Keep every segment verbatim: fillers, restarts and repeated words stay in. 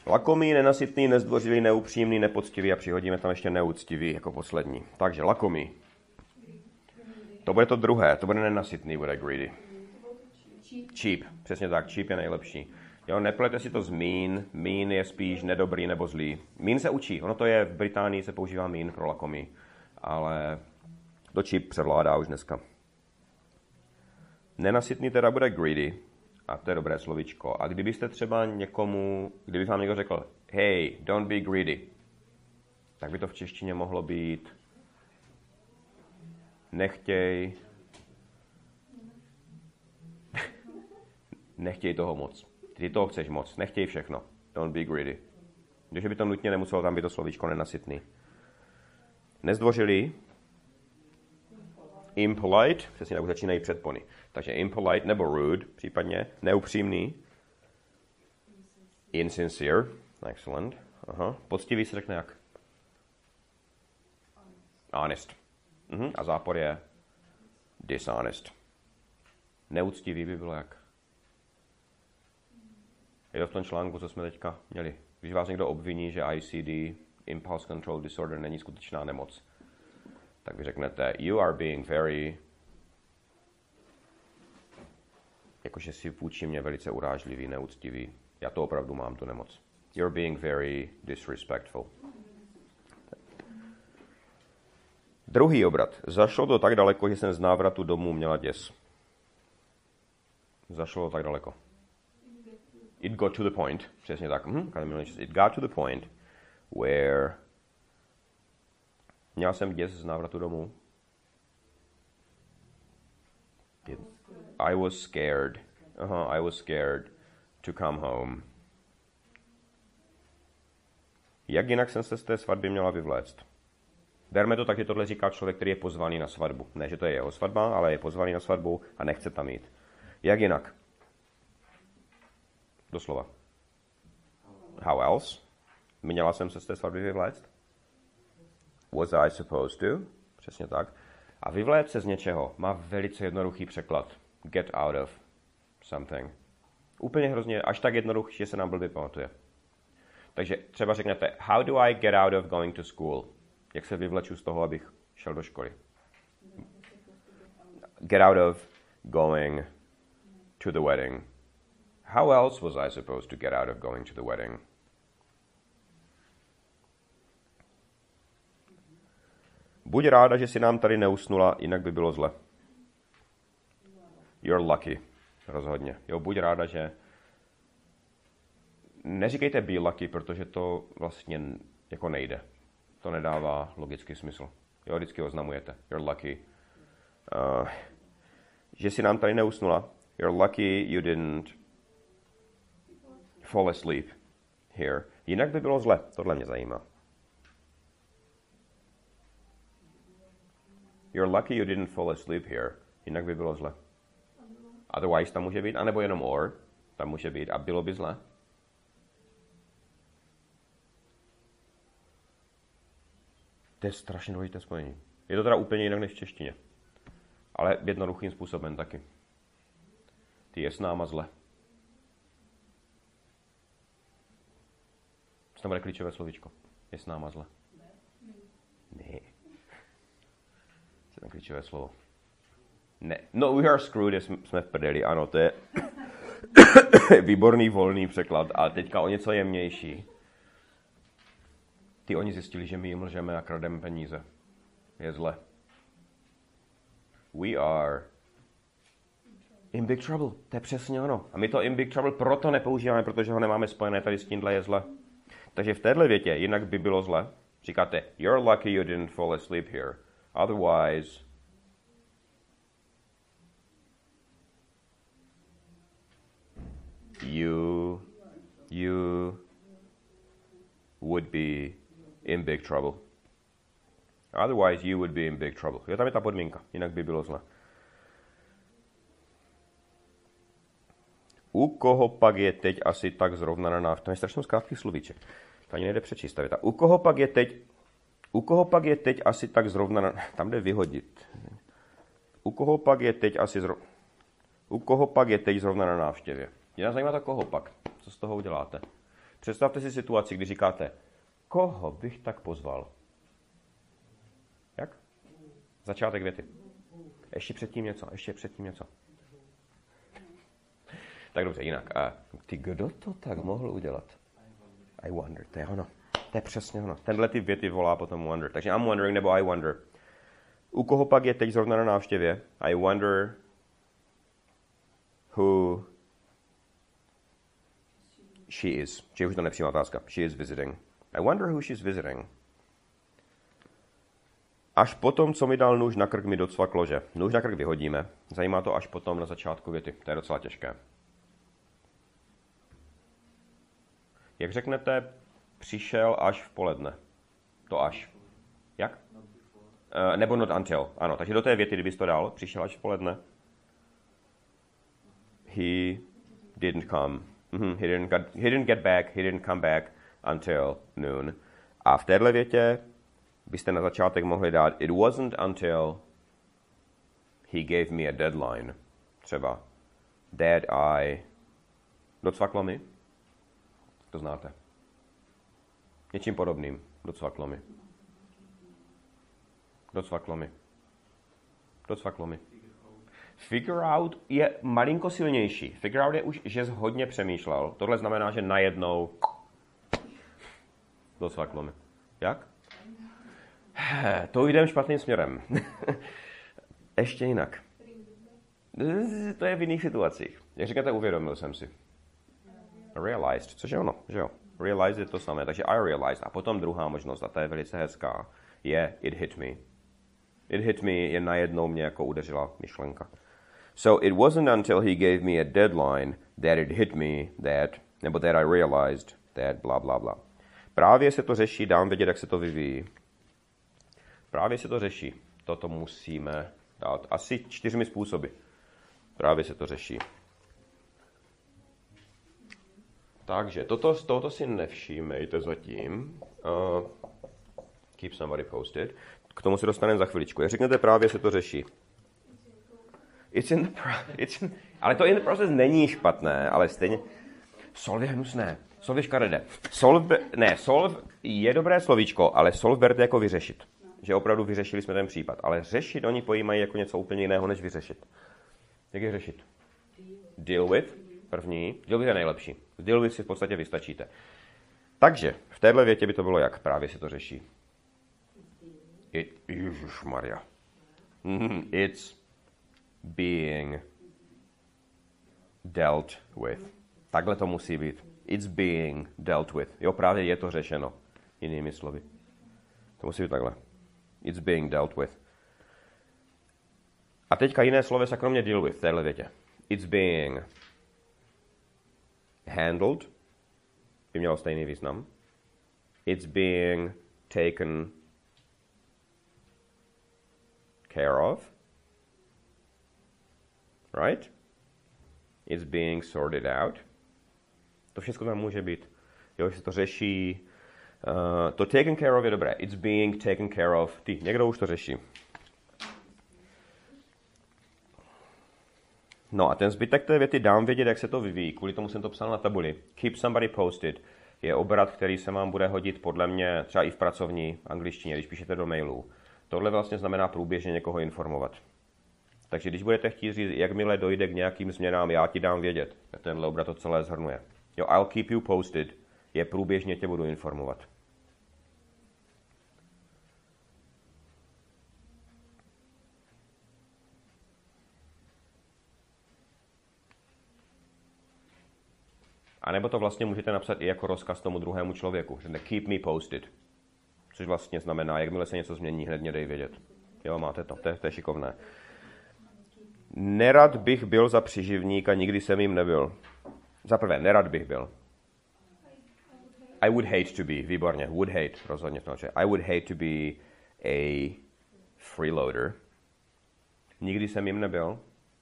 Lakomý, nenasytný, nezdvořilý, neupřímný, nepoctivý a přihodíme tam ještě neúctivý jako poslední. Takže lakomý. To bude to druhé, to bude nenasytný, bude greedy. Cheap, přesně tak, cheap je nejlepší. Jo, neplete si to z mean, mean je spíš nedobrý nebo zlý. Mean se učí, ono to je, v Británii se používá mean pro lakomý, ale to cheap převládá už dneska. Nenasytný teda bude greedy, a to je dobré slovíčko. A kdybyste třeba někomu, kdyby vám někdo řekl, hey, don't be greedy, tak by to v češtině mohlo být nechtěj, nechtěj toho moc. Ty toho chceš moc, nechtěj všechno. Don't be greedy. Když by to nutně nemuselo tam být to slovíčko nenasytný. Nezdvořilý, impolite, přesně tak už začínají předpony. Takže impolite nebo rude, případně neupřímný. Insincere, excellent. Aha. Poctivý se řekne jak? Honest. Mhm. A zápor je dishonest. Neúctivý by bylo jak? Je to v tom článku, co jsme teďka měli. Když vás někdo obviní, že I C D, Impulse Control Disorder, není skutečná nemoc, tak vy řeknete, you are being very, jakože si vůči mě velice urážlivý, neúctivý. Já to opravdu mám, tu nemoc. You're being very disrespectful. Druhý obrat. Zašlo to tak daleko, že jsem z návratu domů měla děs. Zašlo to tak daleko. It got to the point. Přesně tak. Hm, it got to the point where měl jsem děs z návratu domů. It, I was scared. Uh-huh, I was scared to come home. Jak jinak jsem se z té svatby měla vyvléct? Berme to tak, že tohle říká člověk, který je pozvaný na svatbu. Ne, že to je jeho svatba, ale je pozvaný na svatbu a nechce tam jít. Jak jinak? Doslova. How else? Měla jsem se z té svatby vyvléct? Was I supposed to? Přesně tak. A vyvléct se z něčeho má velice jednoduchý překlad. Get out of something. Úplně hrozně, až tak jednoduchý, že se nám blbě pamatuje. Takže třeba řeknete, how do I get out of going to school? Jak se vyvleču z toho, abych šel do školy? Get out of going to the wedding. How else was I supposed to get out of going to the wedding? Buď ráda, že si nám tady neusnula, jinak by bylo zle. You're lucky. Rozhodně. Jo, buď ráda, že... Neříkejte be lucky, protože to vlastně jako nejde. To nedává logický smysl. Jo, vždycky oznamujete. You're lucky. Uh, že si nám tady neusnula. You're lucky you didn't fall asleep here. Jinak by bylo zle. Tohle mě zajímá. You're lucky you didn't fall asleep here. Jinak by bylo zle. Otherwise tam může být, anebo jenom or. Tam může být a bylo by zle. To je strašně důležité spojení. Je to teda úplně jinak než v češtině. Ale jednoduchým způsobem taky. Ty je s náma zle. Co tam bude klíčové slovíčko? Je s náma zle. Ne. Co tam klíčové slovo? Ne. No, we are screwed, jsme v prdeli. Ano, to je výborný volný překlad. A teďka o něco jemnější. Ty oni zjistili, že my jim lžeme a krademe peníze. Je zle. We are in big trouble. To je přesně ono. A my to in big trouble proto nepoužíváme, protože ho nemáme spojené tady s tímhle je zle. Takže v téhle větě jinak by bylo zle. Říkáte, you're lucky you didn't fall asleep here. Otherwise, you, you would be in big trouble. Otherwise, you would be in big trouble. Jo, tam je ta podmínka, jinak by bylo zle. U koho pak je teď asi tak zrovna na návštěvě? To je strašně krátký slovíček. To ani nejde přečíst. Ta věta. U koho pak je teď, u koho pak je teď asi tak zrovna na... Tam jde vyhodit. U koho pak je teď asi zrovna... U koho pak je teď zrovna na návštěvě? Mě nás zajímá to koho pak. Co z toho uděláte? Představte si situaci, kdy říkáte, koho bych tak pozval? Jak? Začátek věty. Ještě předtím něco, ještě předtím něco. Tak dobře, jinak. A ty, kdo to tak mohl udělat? I wonder, to je ono. To je přesně ono. Tenhle typ věty volá potom wonder. Takže I'm wondering nebo I wonder. U koho pak je teď zrovna na návštěvě? I wonder who she is. Či už to nepřímá otázka. She is visiting. I wonder who she's visiting. Až potom, co mi dal nůž na krk, mi docvak lože. Nůž na krk vyhodíme. Zajímá to až potom na začátku věty. To je docela těžké. Jak řeknete, přišel až v poledne. To až. Jak? Uh, nebo not until. Ano, takže do té věty, kdybys to dal, přišel až v poledne. He didn't come. Mm-hmm. He, didn't get, he didn't get back. He didn't come back until noon. A v téhle větě byste na začátek mohli dát it wasn't until he gave me a deadline. Třeba that I... Docvaklo mi? To znáte. Něčím podobným. Docvaklo mi. Docvaklo mi. Docvaklo mi. Figure out je malinko silnější. Figure out je už, že jsi hodně přemýšlel. Tohle znamená, že najednou docvaklo mi. Jak? To jdem špatným směrem. Ještě jinak. To je v jiných situacích. Jak říkáte, uvědomil jsem si. Realized, což je ono, že jo. Realized je to samé, takže I realized. A potom druhá možnost, a ta je velice hezká, je it hit me. It hit me je najednou mě jako udeřila myšlenka. So it wasn't until he gave me a deadline that it hit me that, nebo that I realized that bla bla bla. Právě se to řeší, dám vědět, jak se to vyvíjí. Právě se to řeší. Toto musíme dát asi čtyřmi způsoby. Právě se to řeší. Takže toto, tohoto si nevšímejte zatím. Uh, keep somebody posted. K tomu se dostaneme za chviličku. Jak řeknete, právě se to řeší. It's in the pro- it's in, ale to in the process není špatné, ale stejně... Solve je hnusné. Solve je škaredé. Solve, ne, solve je dobré slovíčko, ale solve berte jako vyřešit. Že opravdu vyřešili jsme ten případ. Ale řešit oni pojímají jako něco úplně jiného, než vyřešit. Jak je řešit? Deal with, první. Deal with je nejlepší. Deal with si v podstatě vystačíte. Takže v téhle větě by to bylo jak? Právě se to řeší. It, Ježišmarja. It's being dealt with. Takhle to musí být. It's being dealt with. Jo, právě je to řešeno. Jinými slovy. To musí být takhle. It's being dealt with. A teďka jiné slovesa kromě deal with v téhle větě. It's being handled. By mělo stejný význam. It's being taken care of. Right? It's being sorted out. To všechno tam může být. Jo, že se to řeší. Uh, to taken care of je dobré. It's being taken care of. Ty, někdo už to řeší. No a ten zbytek té věty dám vědět, jak se to vyvíjí. Kvůli tomu jsem to psal na tabuli. Keep somebody posted je obrat, který se vám bude hodit podle mě třeba i v pracovní angličtině, když píšete do mailu. Tohle vlastně znamená průběžně někoho informovat. Takže když budete chtít říct, jakmile dojde k nějakým změnám, já ti dám vědět. Tenhle obrat to celé zhrnuje. Jo, I'll keep you posted je průběžně tě budu informovat. A nebo to vlastně můžete napsat i jako rozkaz tomu druhému člověku. Že keep me posted. Což vlastně znamená, jakmile se něco změní, hned mě dej vědět. Jo, máte to. To je, to je šikovné. Nerad bych byl za příživníka, nikdy jsem jim nebyl. Za prvé, nerad bych byl. I would hate to be. Výborně. Would hate. Rozhodně to. I would hate to be a freeloader. Nikdy jsem jim nebyl.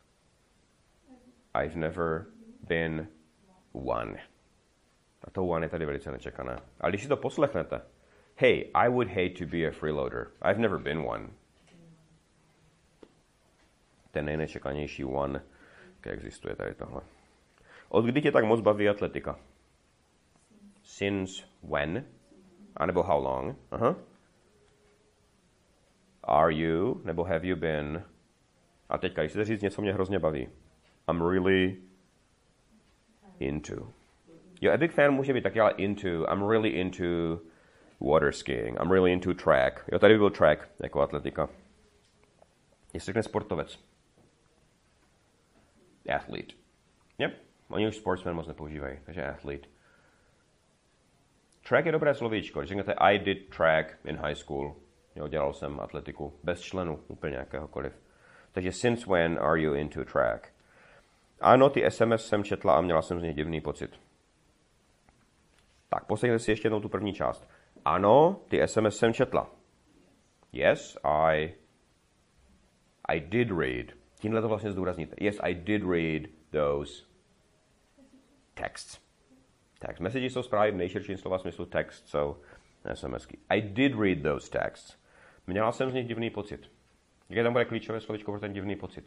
I've never been one. A to one je tady velice nečekané. Ale když si to poslechnete, hey, I would hate to be a freeloader. I've never been one. Ten nejnečekanější one, jak existuje tady tohle. Od kdy tě tak moc baví atletika? since when, anebo how long. Aha. Are you, nebo have you been. A teďka, když chcete říct něco, mě hrozně baví. I'm really into. Jo, a big fan může být taky, ale into. I'm really into water skiing. I'm really into track. Jo, tady by byl track, jako atletika. Jestli řekne sportovec. Athlete. Yep. Oni už sportsman moc nepoužívají, takže athlete. Track je dobré slovíčko. Když řeknete I did track in high school. Jo, dělal jsem atletiku. Bez členu, úplně jakéhokoliv. Takže since when are you into track? Ano, ty S M S jsem četla a měla jsem z nich divný pocit. Tak, poslechněte si ještě jednou tu první část. Ano, ty S M S jsem četla. Yes, I... I did read. Tímhle to vlastně zdůrazníte. Yes, I did read those texts. Text messages jsou zprávy v nejširším slova smyslu text, jsou SMSky. I did read those texts. Měla jsem z nich divný pocit. Jaké tam bude klíčové slovíčko pro ten divný pocit?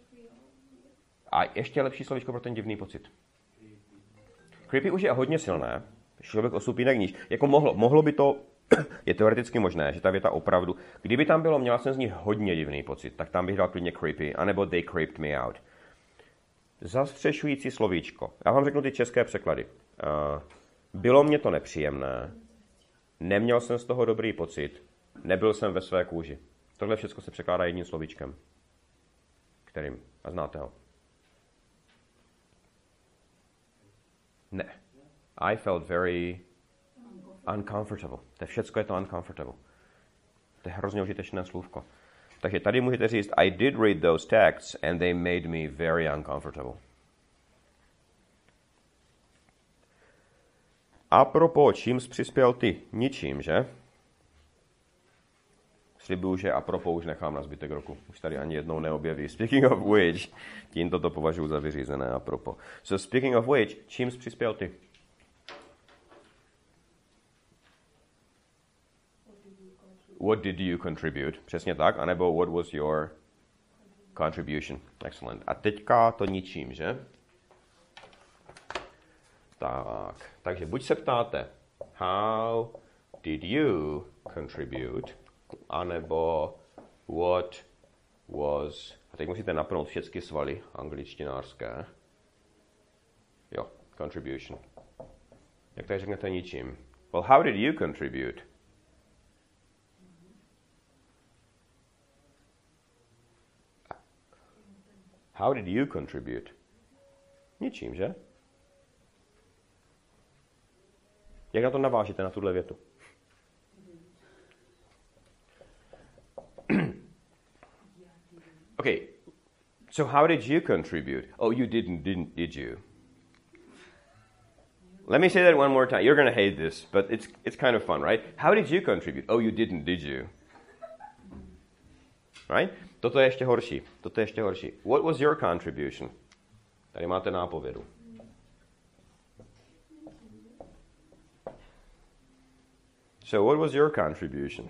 A ještě lepší slovíčko pro ten divný pocit. Creepy už je hodně silné. Člověk o stupínek níž. Jako mohlo, mohlo by to, je teoreticky možné, že ta věta opravdu, kdyby tam bylo, měla jsem z nich hodně divný pocit, tak tam bych dal klidně creepy, anebo they creeped me out. Zastřešující slovíčko. Já vám řeknu ty české překlady. Uh, bylo mě to nepříjemné, neměl jsem z toho dobrý pocit, nebyl jsem ve své kůži. Tohle všechno se překládá jedním slovíčkem. Kterým? A znáte ho? Ne. I felt very uncomfortable. To je všecko je to uncomfortable. To je hrozně užitečné slůvko. Takže tady můžete říct I did read those texts and they made me very uncomfortable. Apropo, čím jsi přispěl ty? Ničím, že? Slibuju, že apropo už nechám na zbytek roku. Už tady ani jednou neobjeví. Speaking of which, tímto to považuji za vyřízené apropo. So speaking of which, čím jsi přispěl ty? What did you contribute? Přesně tak. A nebo what was your contribution? Excellent. A teďka to ničím, že? Tak. Takže buď se ptáte, how did you contribute? A nebo what was... A teď musíte napnout všechny svaly angličtinářské. Jo, contribution. Jak tady řeknete ničím? Well, how did you contribute? How did you contribute? Ničím, že? Jak na to navážíte, na tuhle větu? Okay, so how did you contribute? Oh, you didn't, didn't, did you? Let me say that one more time. You're going to hate this, but it's it's kind of fun, right? How did you contribute? Oh, you didn't, did you? Right? Toto je ještě horší. Toto je ještě horší. What was your contribution? Tady máte nápovědu. So what was your contribution?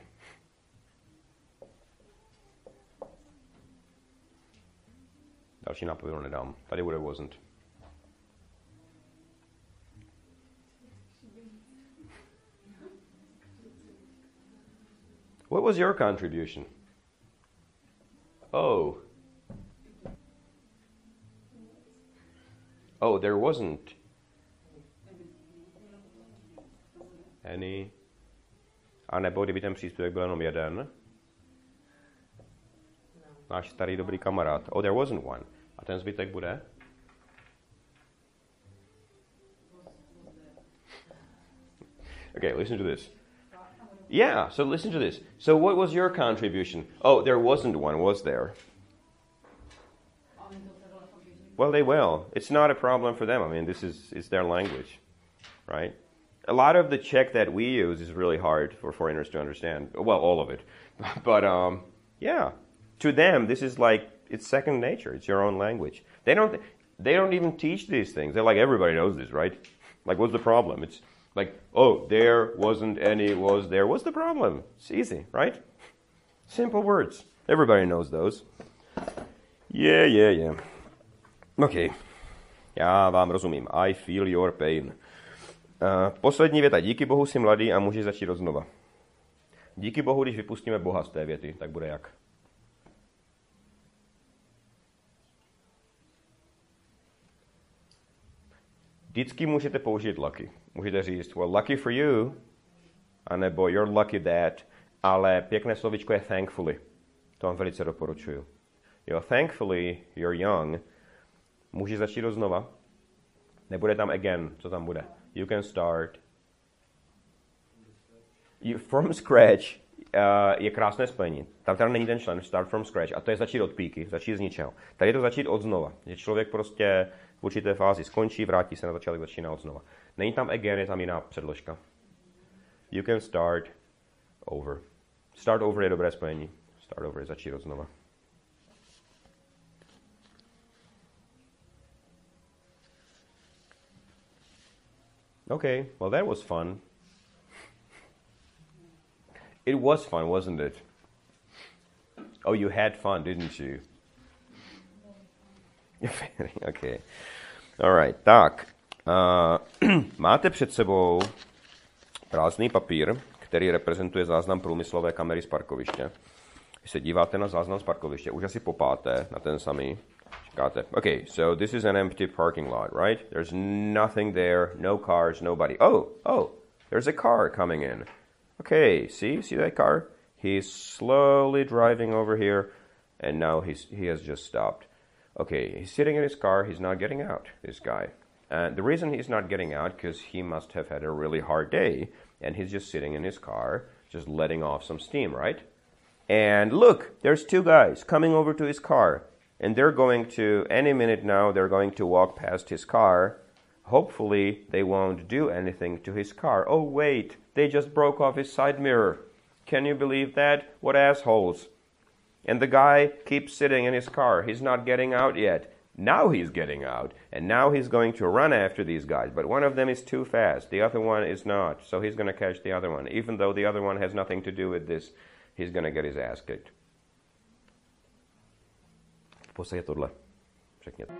Další nápovědu nedám. Tady bude wasn't. What was your contribution? Oh. Oh, there wasn't any. A nebo kdyby ten příspěvek byl jenom jeden. Náš starý dobrý kamarád. Oh, there wasn't one. A ten zbytek bude? Okay, listen to this. Yeah, so listen to this. So what was your contribution? Oh, there wasn't one, was there? Well, they will. It's not a problem for them. I mean, this is it's their language, right? A lot of the Czech that we use is really hard for foreigners to understand. Well, all of it. But, um, yeah. To them, this is like, it's second nature. It's your own language. They don't, they don't even teach these things. They're like, everybody knows this, right? Like, what's the problem? It's like, oh, there wasn't any, was there. What's the problem? It's easy, right? Simple words. Everybody knows those. Yeah, yeah, yeah. Okay. Já vám rozumím. I feel your pain. Uh, poslední věta. Díky Bohu jsi mladý a můžeš začít odznova. Díky Bohu, když vypustíme Boha z té věty, tak bude jak? Vždycky můžete použít lucky. Můžete říct, well, lucky for you, anebo you're lucky that, ale pěkné slovičko je thankfully. To vám velice doporučuju. Jo, thankfully you're young. Můžeš začít znova. Nebude tam again. Co tam bude? You can start. You, from scratch uh, je krásné spojení. Tam teda není ten člen, start from scratch. A to je začít od píky, začít z ničeho. Tady je to začít od znova. Že člověk prostě v určité fázi skončí, vrátí se na začátek, začíná od znova. Není tam again, je tam jiná předložka. You can start over. Start over je dobré spojení. Start over je začít od znova. Okay, well that was fun. It was fun, wasn't it? Oh, you had fun, didn't you? Okay. All right. Tak. Uh, máte před sebou prázdný papír, který reprezentuje záznam průmyslové kamery z parkoviště. Když se díváte na záznam z parkoviště, už asi popáté na ten samý. Říkáte, okay, so this is an empty parking lot, right? There's nothing there, no cars, nobody. Oh, oh, there's a car coming in. Okay, see, see that car? He's slowly driving over here, and now he's, he has just stopped. Okay, he's sitting in his car, he's not getting out, this guy. And the reason he's not getting out, because he must have had a really hard day, and he's just sitting in his car, just letting off some steam, right? And look, there's two guys coming over to his car, and they're going to, any minute now, they're going to walk past his car. Hopefully, they won't do anything to his car. Oh, wait, they just broke off his side mirror. Can you believe that? What assholes. And the guy keeps sitting in his car. He's not getting out yet. Now he's getting out, and now he's going to run after these guys. But one of them is too fast. The other one is not. So he's going to catch the other one. Even though the other one has nothing to do with this, he's going to get his ass kicked. V podstatě tohle. Řekněte.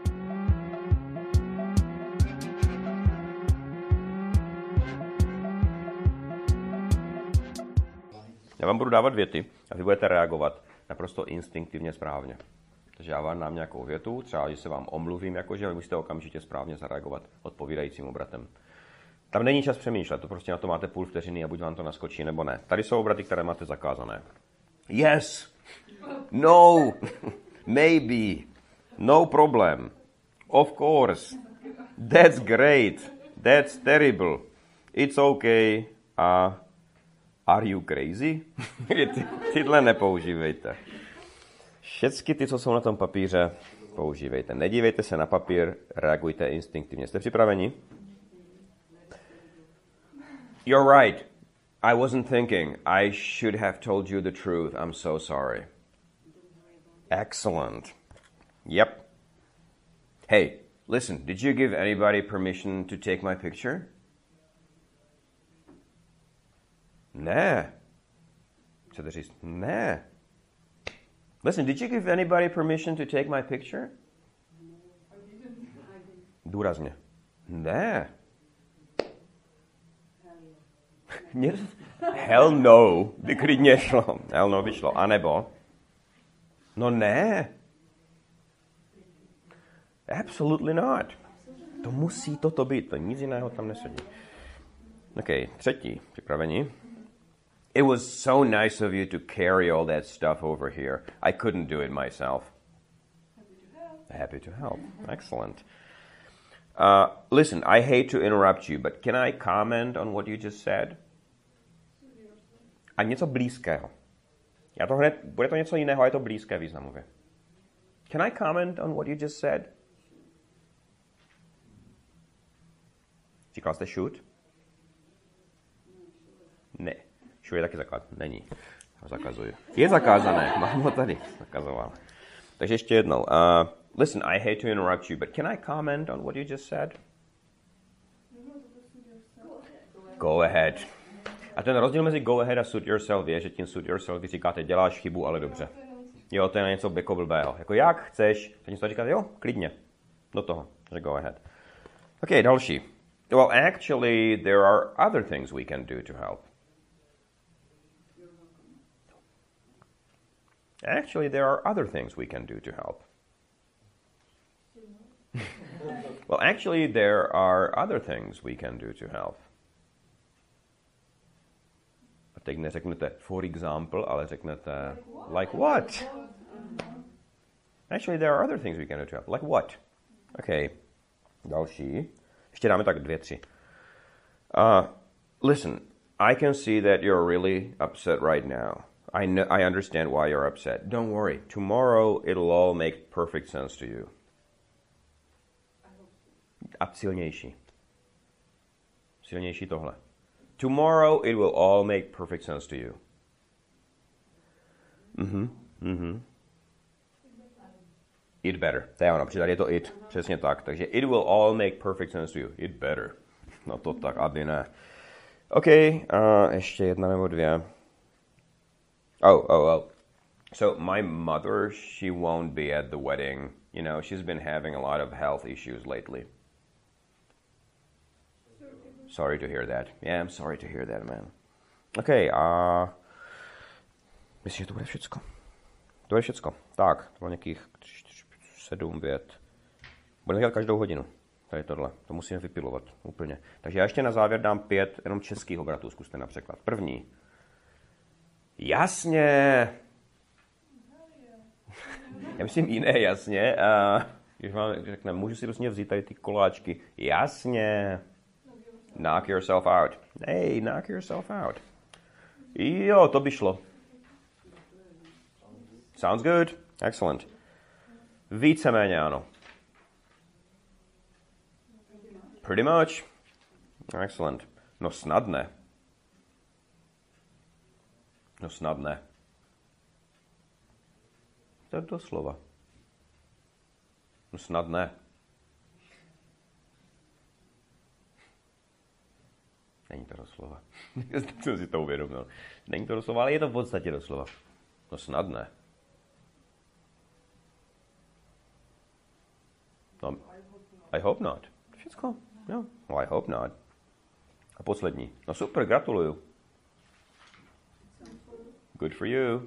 Já vám budu dávat věty a vy budete reagovat naprosto instinktivně správně. Takže já vám dám nějakou větu, třeba když se vám omluvím, jakože vy musíte okamžitě správně zareagovat odpovídajícím obratem. Tam není čas přemýšlet, to prostě na to máte půl vteřiny a buď vám to naskočí, nebo ne. Tady jsou obraty, které máte zakázané. Yes, no, maybe, no problem, of course, that's great, that's terrible, it's okay, a uh, are you crazy? Ty, tyhle nepoužívejte. Všechny ty, co jsou na tom papíře, používejte. Nedívejte se na papír, reagujte instinktivně. Jste připraveni? You're right. I wasn't thinking. I should have told you the truth. I'm so sorry. Excellent. Yep. Hey, listen, did you give anybody permission to take my picture? Ne. Chcete říct? Ne. Listen, did you give anybody permission to take my picture? Důrazně. Ne. Hell no, by klidně šlo. Hell no by šlo. A nebo? No ne. Absolutely not. To musí toto být, to nic jiného tam nesedí. OK, třetí. Připraveni? It was so nice of you to carry all that stuff over here. I couldn't do it myself. Happy to help. Happy to help. Excellent. Uh, listen, I hate to interrupt you, but can I comment on what you just said? A něco blízkého. Já to hned, bude to něco jiného, a je to blízké významově. Can I comment on what you just said? Říkal jste shoot? Ne. Shoot je taky zakázané. Není. Ho zakazuju. Je zakázané. Mám ho tady. Zakazoval. Takže ještě jednou. Uh, listen, I hate to interrupt you, but can I comment on what you just said? Go ahead. A ten rozdíl mezi go ahead a suit yourself je, že tím suit yourself vy říkáte, děláš chybu, ale dobře. Jo, to je na něco jako blbého. Jako jak chceš, tak něco říkáte, jo, klidně. Do toho, že go ahead. OK, další. Well, actually, there are other things we can do to help. Actually, there are other things we can do to help. Well, actually, there are other things we can do to help. A teď neřeknete for example, ale řeknete like what? Actually, there are other things we can do to help. Like what? Okay. Další. Ještě dáme tak dvě, tři. Uh, listen, I can see that you're really upset right now. I know, I understand why you're upset. Don't worry. Tomorrow it'll all make perfect sense to you. A silnější. Silnější tohle. Tomorrow it will all make perfect sense to you. Mhm, mhm. It better. To je ono, protože tady je to it. Přesně tak. Takže it will all make perfect sense to you. It better. No to tak, aby ne. OK, a ještě jedna nebo dvě. Oh, oh, oh. So my mother, she won't be at the wedding. You know, she's been having a lot of health issues lately. Sorry to hear that. Yeah, I'm sorry to hear that, man. OK, a myslím, že to bude všecko. To je všecko. Tak, to bylo nějakých sedm vět. Budeme dělat každou hodinu. Tady tohle. To musíme vypilovat úplně. Takže já ještě na závěr dám pět jenom českých obratů. Zkuste na překlad. První. Jasně. Já myslím jiné jasně. A když vám řekne, můžu si prostě vzít tady ty koláčky. Jasně. Knock yourself out. Hey, knock yourself out. Jo, to by šlo. Sounds good. Excellent. Víceméně ano. Pretty much. Excellent. No snad ne. No snad ne. To je doslova. No snad ne. Není to doslova. Jsem si to uvědomil. Není to doslova, ale je to v podstatě doslova. No snad ne. No, I hope not. Všecko. No. Well, I hope not. A poslední. No super, gratuluju. Good for you.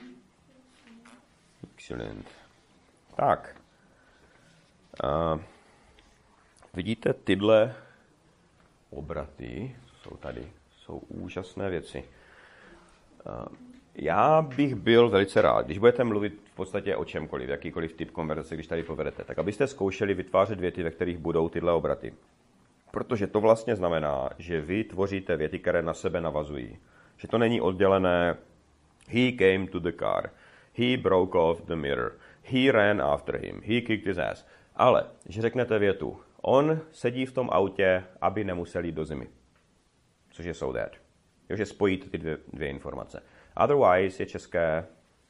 Excellent. Tak. Uh, vidíte tyhle obraty? Jsou tady. Jsou úžasné věci. Uh, já bych byl velice rád, když budete mluvit v podstatě o čemkoliv, jakýkoliv typ konverzace, když tady povedete, tak abyste zkoušeli vytvářet věty, ve kterých budou tyhle obraty. Protože to vlastně znamená, že vy tvoříte věty, které na sebe navazují. Že to není oddělené he came to the car, he broke off the mirror, he ran after him, he kicked his ass. Ale, že řeknete větu, on sedí v tom autě, aby nemusel jít do zimy. Což je so that. Jo, že spojíte ty dvě, dvě informace. Otherwise je české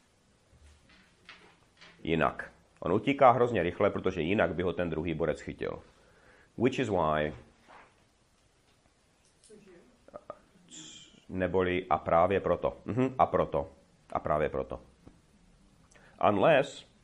jinak. On utíká hrozně rychle, protože jinak by ho ten druhý borec chytil. Which is why neboli a právě proto. Mhm, a proto. A právě proto. Unless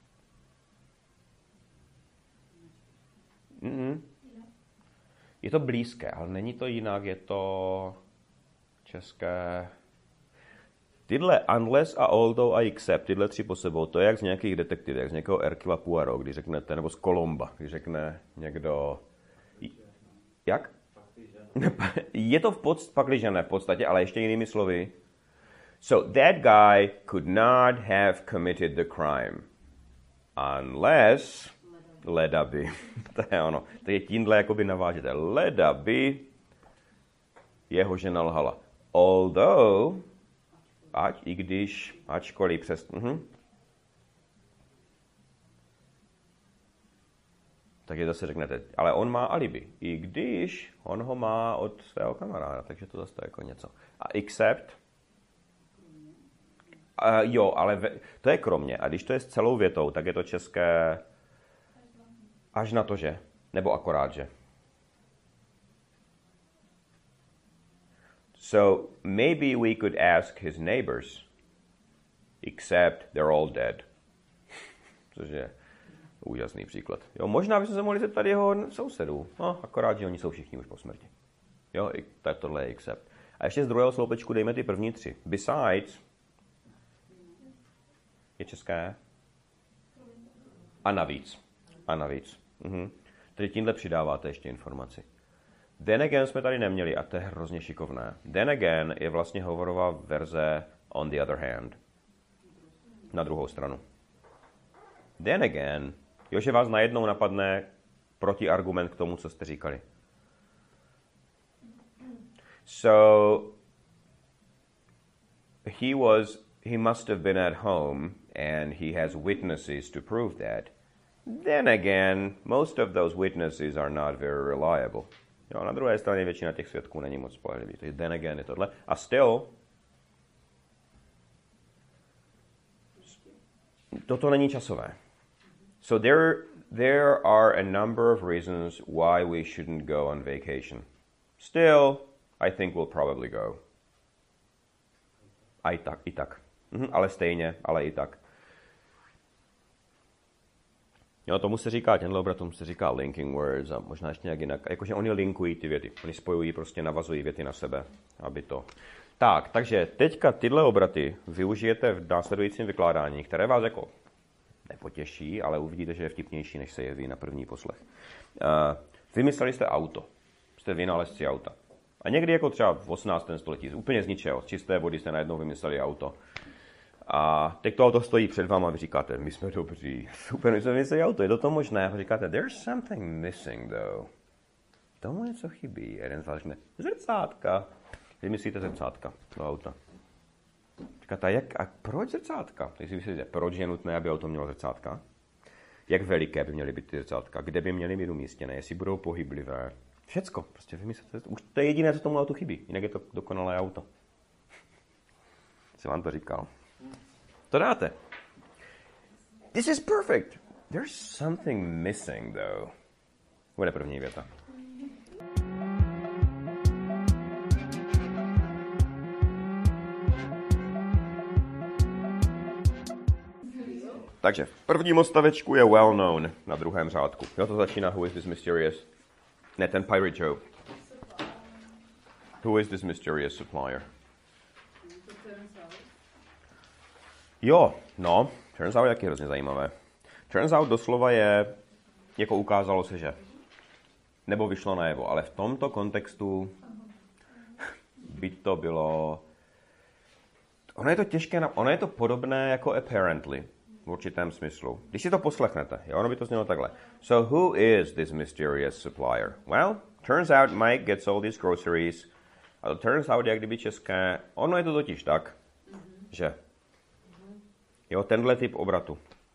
mhm. Je to blízké, ale není to jinak, je to české. Tyhle unless a although a except, tyhle tři po sebou, to je jak z nějakých detektivů, jak z nějakého Hercula Poirot, když řeknete, nebo z Colomba, když řekne někdo. Jak? Je to v podstatě, pakliže ne v podstatě, ale ještě jinými slovy. So that guy could not have committed the crime unless leda by. To je ono. To je tímhle jakoby navážete. Leda by jeho žena lhala. Although, ať i když, ačkoliv přes. Uh-huh. Takže zase řeknete, ale on má alibi. I když on ho má od svého kamaráda, takže to zase jako něco. A except, uh, jo, ale ve, to je kromě. A když to je s celou větou, tak je to české až na to, že. Nebo akorát, že. So maybe we could ask his neighbors, except they're all dead. Cože Úžasný příklad. Jo, možná bychom se mohli zeptat jeho sousedů. No, akorát, že oni jsou všichni už po smrti. Jo, i tak tohle je except. A ještě z druhého sloupečku dejme ty první tři. Besides je české. A navíc. A navíc. Mhm. Tedy tímhle přidáváte ještě informaci. Then again jsme tady neměli a to je hrozně šikovné. Then again je vlastně hovorová verze on the other hand. Na druhou stranu. Then again, jo, že vás najednou napadne protiargument k tomu, co jste říkali. So, he was, he must have been at home and he has witnesses to prove that. Then again, most of those witnesses are not very reliable. Jo, na druhé straně většina těch svědků není moc spolehlivý. Takže then again je tohle. A still, toto není časové. So there, there are a number of reasons why we shouldn't go on vacation. Still, I think we'll probably go. A i tak, i tak. Mhm, ale stejně, ale i tak. Jo, tomu se říká, tenhle obrat, tomu se říká linking words a možná ještě nějak jinak. Jakože oni linkují ty věty. Oni spojují, prostě navazují věty na sebe, aby to... Tak, takže teďka tyhle obraty využijete v následujícím vykládání, které vás jako nepotěší, ale uvidíte, že je vtipnější, než se jeví na první poslech. Uh, vymysleli jste auto. Jste vynálezci auta. A někdy jako třeba v osmnáctém století, úplně z ničeho, z čisté vody jste najednou vymysleli auto. A teď to auto stojí před váma a vy říkáte, my jsme dobří, super, my jsme vymysleli auto, je to to možné? A říkáte, there's something missing though. Tomu něco chybí. A jeden z vás řekne, zrcátka. Vymyslíte zrcátka do auta. Říkáte, jak, a proč zrcátka? Takže si myslíte, proč je nutné, aby auto mělo zrcátka? Jak veliké by měly být ty zrcátka? Kde by měly být umístěné? Jestli budou pohyblivé? Všecko. Prostě vymyslete. Už to je jediné, co tomu autu chybí. Jinak je to dokonalé auto. Jsem vám to říkal. To dáte. This is perfect. There's something missing, though. Bude první věta. Takže v prvním odstavečku je well known na druhém řádku. Jo, to začíná Who is this mysterious? Ne, ten Pirate Joe. Who is this mysterious supplier? Jo, no, turns out je taky hrozně zajímavé. Turns out doslova je, jako ukázalo se, že. Nebo vyšlo najevo, ale v tomto kontextu by to bylo... Ono je to těžké, ono je to podobné jako apparently. V určitém smyslu. Když si to poslechnete, jo, ono by to znělo takhle. So who is this mysterious supplier? Well, turns out Mike gets all these groceries. A to turns out, jak kdyby české, ono je to totiž tak, mm-hmm. že jo, tenhle typ obratu.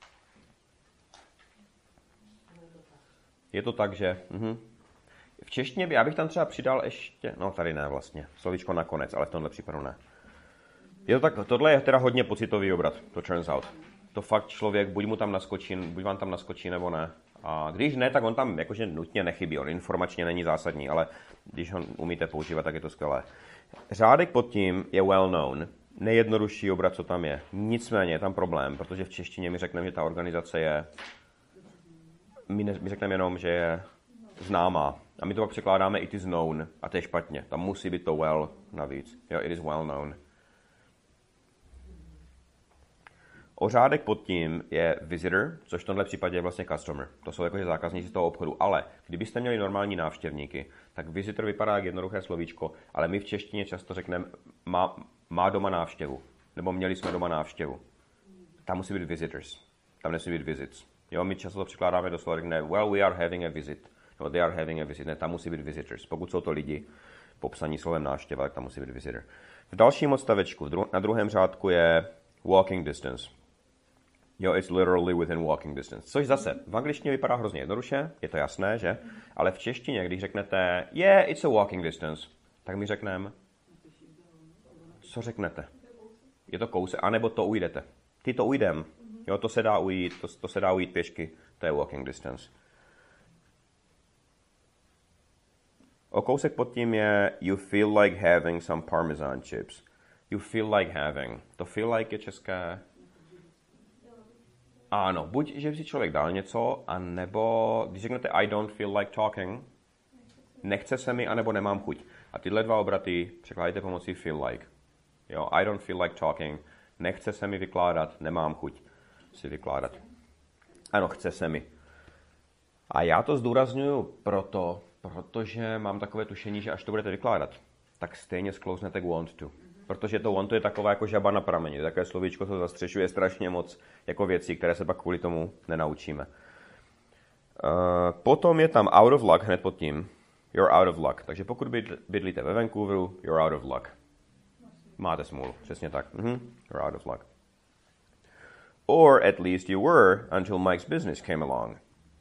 Je to tak, že mhm. v češtině by, já bych tam třeba přidal ještě, no tady ne vlastně, slovíčko nakonec, ale v tomhle případu ne. Je to tak, tohle je teda hodně pocitový obrat, to turns out. To fakt člověk, buď mu tam naskočí, buď vám tam naskočí, nebo ne. A když ne, tak on tam jakože nutně nechybí, on informačně není zásadní, ale když ho umíte používat, tak je to skvělé. Řádek pod tím je well known, nejjednodušší obrat, co tam je. Nicméně je tam problém, protože v češtině mi řekneme, že ta organizace je, my, ne, my řekneme jenom, že je známá. A my to pak překládáme it is known, a to je špatně. Tam musí být to well navíc. Jo, it is well known. Ořádek pod tím je visitor, což v tomhle případě je vlastně customer. To jsou jakože zákazníci z toho obchodu. Ale kdybyste měli normální návštěvníky, tak visitor vypadá jak jednoduché slovíčko, ale my v češtině často řekneme má, má doma návštěvu. Nebo měli jsme doma návštěvu. Tam musí být visitors. Tam nesmí být visits. Jo, my často to překládáme do slova, řekne, well, we are having a visit. No, they are having a visit. Ne, tam musí být visitors. Pokud jsou to lidi popsaní slovem návštěva, tak tam musí být visitor. V dalším odstavečku, na druhém řádku je walking distance. Jo, it's literally within walking distance. Což zase v angličtině vypadá hrozně jednoduše, je to jasné, že? Ale v češtině, když řeknete yeah, it's a walking distance, tak mi řekneme, co řeknete? Je to kousek, anebo to ujdete. Ty to ujdem. Jo, to se dá ujít, to, to se dá ujít pěšky, to je walking distance. O kousek pod tím je you feel like having some parmesan chips. You feel like having. To feel like je české... Ano, buď, že by si člověk dal něco, anebo, když řeknete I don't feel like talking, nechce se mi, anebo nemám chuť. A tyhle dva obraty překládáte pomocí feel like. Jo, I don't feel like talking, nechce se mi vykládat, nemám chuť si vykládat. Ano, chce se mi. A já to zdůrazňuji proto, protože mám takové tušení, že až to budete vykládat, tak stejně sklouznete k want to. Protože to want to je taková jako žaba na prameni. Také slovíčko to zastřešuje strašně moc jako věcí, které se pak kvůli tomu nenaučíme. Uh, potom je tam out of luck hned pod tím. You're out of luck. Takže pokud bydlíte ve Vancouveru, you're out of luck. Máte smůlu, přesně tak. Mm-hmm. You're out of luck. Or at least you were until Mike's business came along.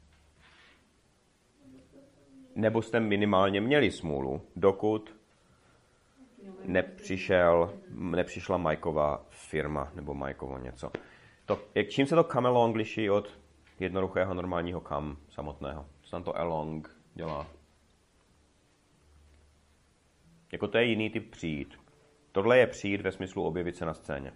Nebo jste minimálně měli smůlu, dokud nepřišel, nepřišla Mikeova firma nebo Mikeovo něco. To, jak, čím se to come along liší od jednoduchého normálního come samotného? Co tam to along dělá? Jako to je jiný typ přijít. Tohle je přijít ve smyslu objevit se na scéně.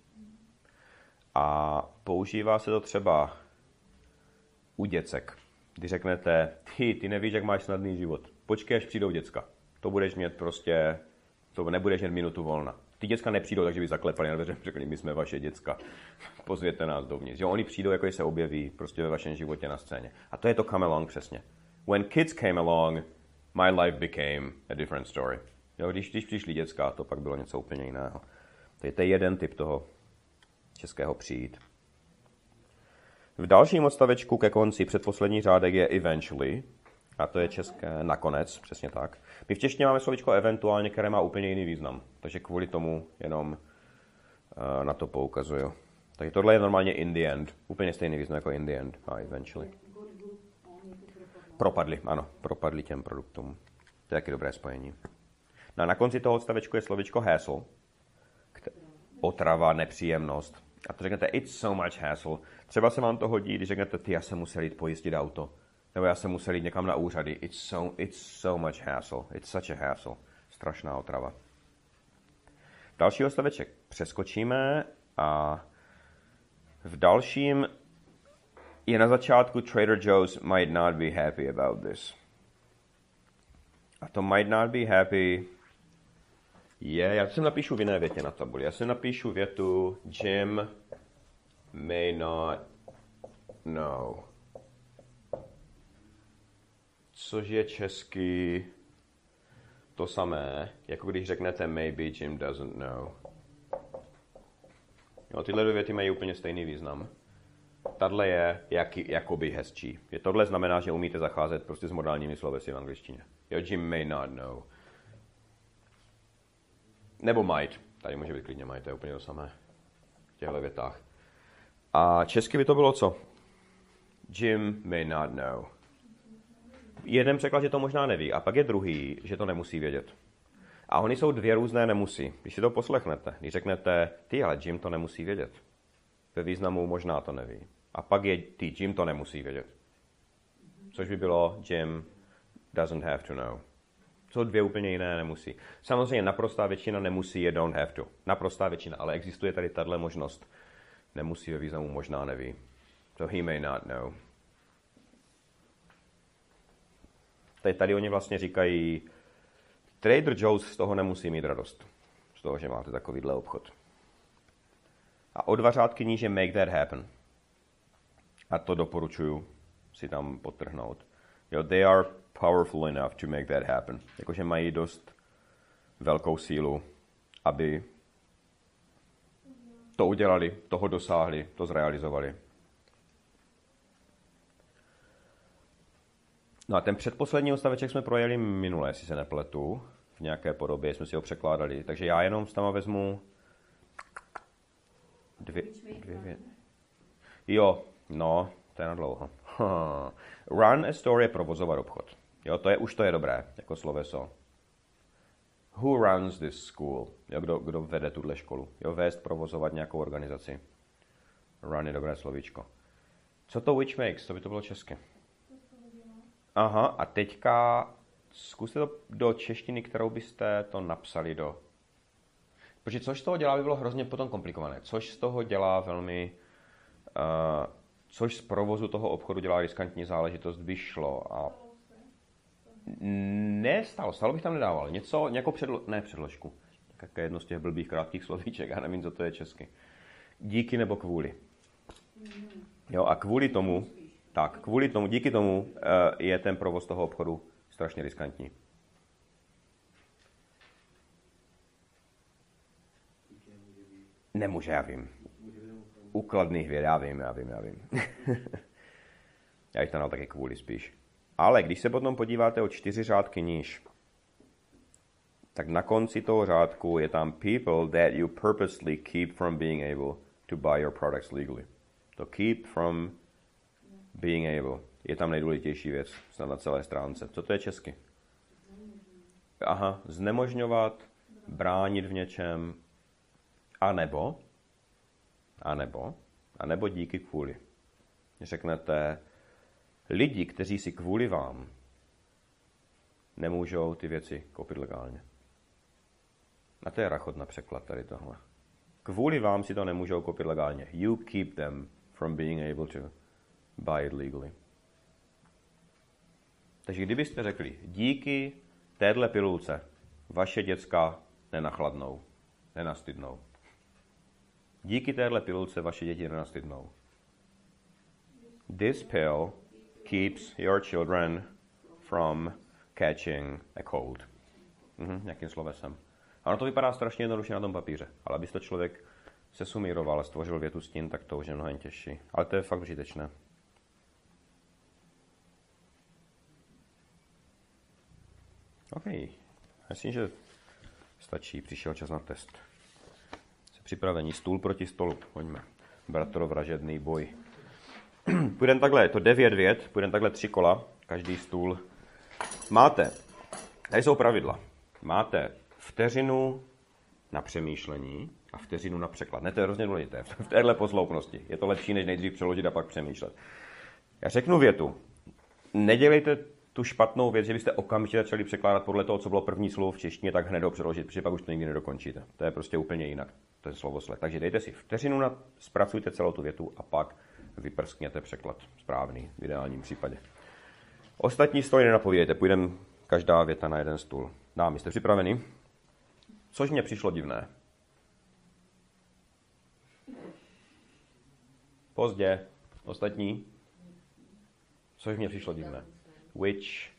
A používá se to třeba u děcek. Když řeknete, ty, ty nevíš, jak máš snadný život. Počkej, až přijdou děcka. To budeš mít prostě, to nebudeš mít minutu volna. Ty děcka nepřijdou, takže by zaklepali na dveře, řekli, my jsme vaše děcka. Pozvěte nás dovnitř. Jo, oni přijdou, jako se objeví prostě ve vašem životě na scéně. A to je to come along přesně. When kids came along, my life became a different story. Jo, když, když přišli děcka, to pak bylo něco úplně jiného. To je, to je jeden typ toho českého přijít. V dalším odstavečku ke konci předposlední řádek je eventually, a to je české nakonec, přesně tak. My v češtině máme slovíčko eventuálně, které má úplně jiný význam, takže kvůli tomu jenom uh, na to poukazuju. Takže tohle je normálně in the end, úplně stejný význam jako in the end a eventually. Propadli, ano, propadli těm produktům. To je taky dobré spojení. No a na konci toho odstavečku je slovíčko hassle, otrava, nepříjemnost. A to řeknete, it's so much hassle. Třeba se vám to hodí, když řeknete, ty, já jsem musel jít pojistit auto. Nebo já jsem musel jít někam na úřady. It's so, it's so much hassle. It's such a hassle. Strašná otrava. Další odstaveček přeskočíme a v dalším je na začátku Trader Joe's might not be happy about this. A to might not be happy je, já to sem napíšu v jiné větě na tabuli. Já si napíšu větu Jim may not know. Což je česky to samé, jako když řeknete maybe Jim doesn't know. Jo, tyhle dvě věty mají úplně stejný význam. Tadle je jaký, jakoby hezčí. Je tohle znamená, že umíte zacházet prostě s modálními slovesy v angličtině. Jo, Jim may not know. Nebo might. Tady může být klidně might, to je úplně to samé v těchto větách. A česky by to bylo co? Jim may not know. Jeden překlad, že to možná neví, a pak je druhý, že to nemusí vědět. A oni jsou dvě různé nemusí. Když si to poslechnete, když řeknete, ty, ale Jim to nemusí vědět. Ve významu možná to neví. A pak je ty, Jim to nemusí vědět. Což by bylo Jim doesn't have to know. Jsou dvě úplně jiné nemusí. Samozřejmě naprostá většina nemusí je don't have to. Naprostá většina, ale existuje tady tato možnost. Nemusí ve významu možná neví. So he may not know. Tady, tady oni vlastně říkají, Trader Joe's z toho nemusí mít radost. Z toho, že máte takovýhle obchod. A o dva řádky níže make that happen. A to doporučuju si tam podtrhnout. Jo, they are powerful enough to make that happen. Jakože mají dost velkou sílu, aby to udělali, toho dosáhli, to zrealizovali. No a ten předposlední odstaveček jsme projeli minule, jestli se nepletu. V nějaké podobě jsme si ho překládali. Takže já jenom tam vezmu dvě, dvě věty. Jo, no, to je na dlouho. Run a store je provozovat obchod. Jo, to je, už to je dobré, jako sloveso. Who runs this school? Jo, kdo, kdo vede tuhle školu? Jo, vést, provozovat nějakou organizaci. Run je dobré slovíčko. Co to which makes? To by to bylo česky. Aha, a teďka zkuste to do češtiny, kterou byste to napsali do. Protože což z toho dělá by bylo hrozně potom komplikované. Což z toho dělá velmi uh, což z provozu toho obchodu dělá riskantní záležitost, vyšlo a ne, stalo, stalo bych tam nedával. Něco, nějakou předlo... ne předložku. Jaké jedno z těch blbých krátkých slovíček, já nevím, co to je česky. Díky nebo kvůli. Jo, a kvůli tomu, tak, kvůli tomu, díky tomu uh, je ten provoz toho obchodu strašně riskantní. Nemůže, já vím. U kladných věd, já vím, já vím, já vím. Já jich tam dal taky kvůli spíš. Ale když se potom podíváte o čtyři řádky níž, tak na konci toho řádku je tam people that you purposely keep from being able to buy your products legally. To keep from being able je tam nejdůležitější věc snad na celé stránce. Co to je česky? Aha, znemožňovat, bránit v něčem, a nebo, a nebo, a nebo díky kvůli. Řeknete, lidi, kteří si kvůli vám nemůžou ty věci koupit legálně. A to je rachot na překlad tady tohle. Kvůli vám si to nemůžou koupit legálně. You keep them from being able to buy it legally. Takže kdybyste řekli, díky téhle pilulce vaše děcka nenachladnou, nenastydnou. Díky téhle pilulce vaše děti nenastydnou. This pill keeps your children from catching a cold. Mhm, nějakým slovesem. Ano, to vypadá strašně jednoduše na tom papíře, ale aby to člověk se sumíroval a stvořil větu s tím, tak to už je mnohem těžší. Ale to je fakt užitečné. OK. Myslím, že stačí. Přišel čas na test. Jste připraveni? Stůl proti stolu. Pojďme. Bratrovražedný boj. Půjdeme takhle, je to devět vět, půjdeme takhle tři kola, každý stůl. Máte, tady jsou pravidla. Máte vteřinu na přemýšlení a vteřinu na překlad. Ne, to je hrozně důležité. V téhle posloupnosti. Je to lepší, než nejdřív přeložit a pak přemýšlet. Já řeknu větu. Nedělejte tu špatnou věc, že byste okamžitě začali překládat podle toho, co bylo první slovo v češtině, tak hned ho přeložit, protože pak už to nikdy nedokončíte. To je prostě úplně jinak. To je slovosled. Takže dejte si vteřinu na, zpracujte celou tu větu a pak vyprskněte překlad správný v ideálním případě. Ostatní stoly nenapovídejte, půjdeme každá věta na jeden stůl. Dámy, jste připraveni? Což mně přišlo divné. Pozdě. Ostatní? Což mně přišlo divné. Which?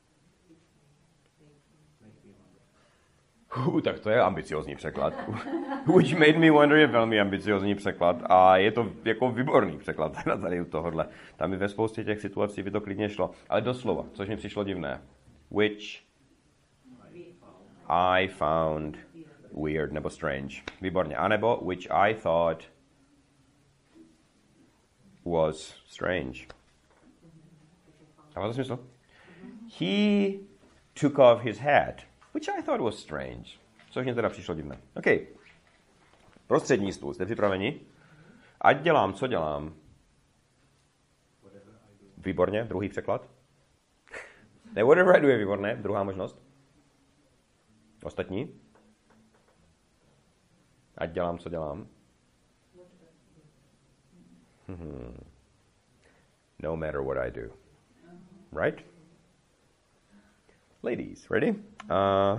Uh, tak to je ambiciozní překlad. Which made me wonder je velmi ambiciozní překlad a je to jako výborný překlad na tady u tohohle. Tam i ve spoustě těch situací by to klidně šlo. Ale doslova, což mi přišlo divné. Which I found weird nebo strange. Výborně. A nebo which I thought was strange. Dává to smysl? He took off his hat, which I thought was strange. Což mě teda přišlo divné. OK. Prostřední stůl. Jste připraveni? Ať dělám, co dělám. Výborně. Druhý překlad. Ne, whatever I do je výborné. Druhá možnost. Ostatní? Ať dělám, co dělám. Hmm. No matter what I do. Right? Ladies, ready? Uh,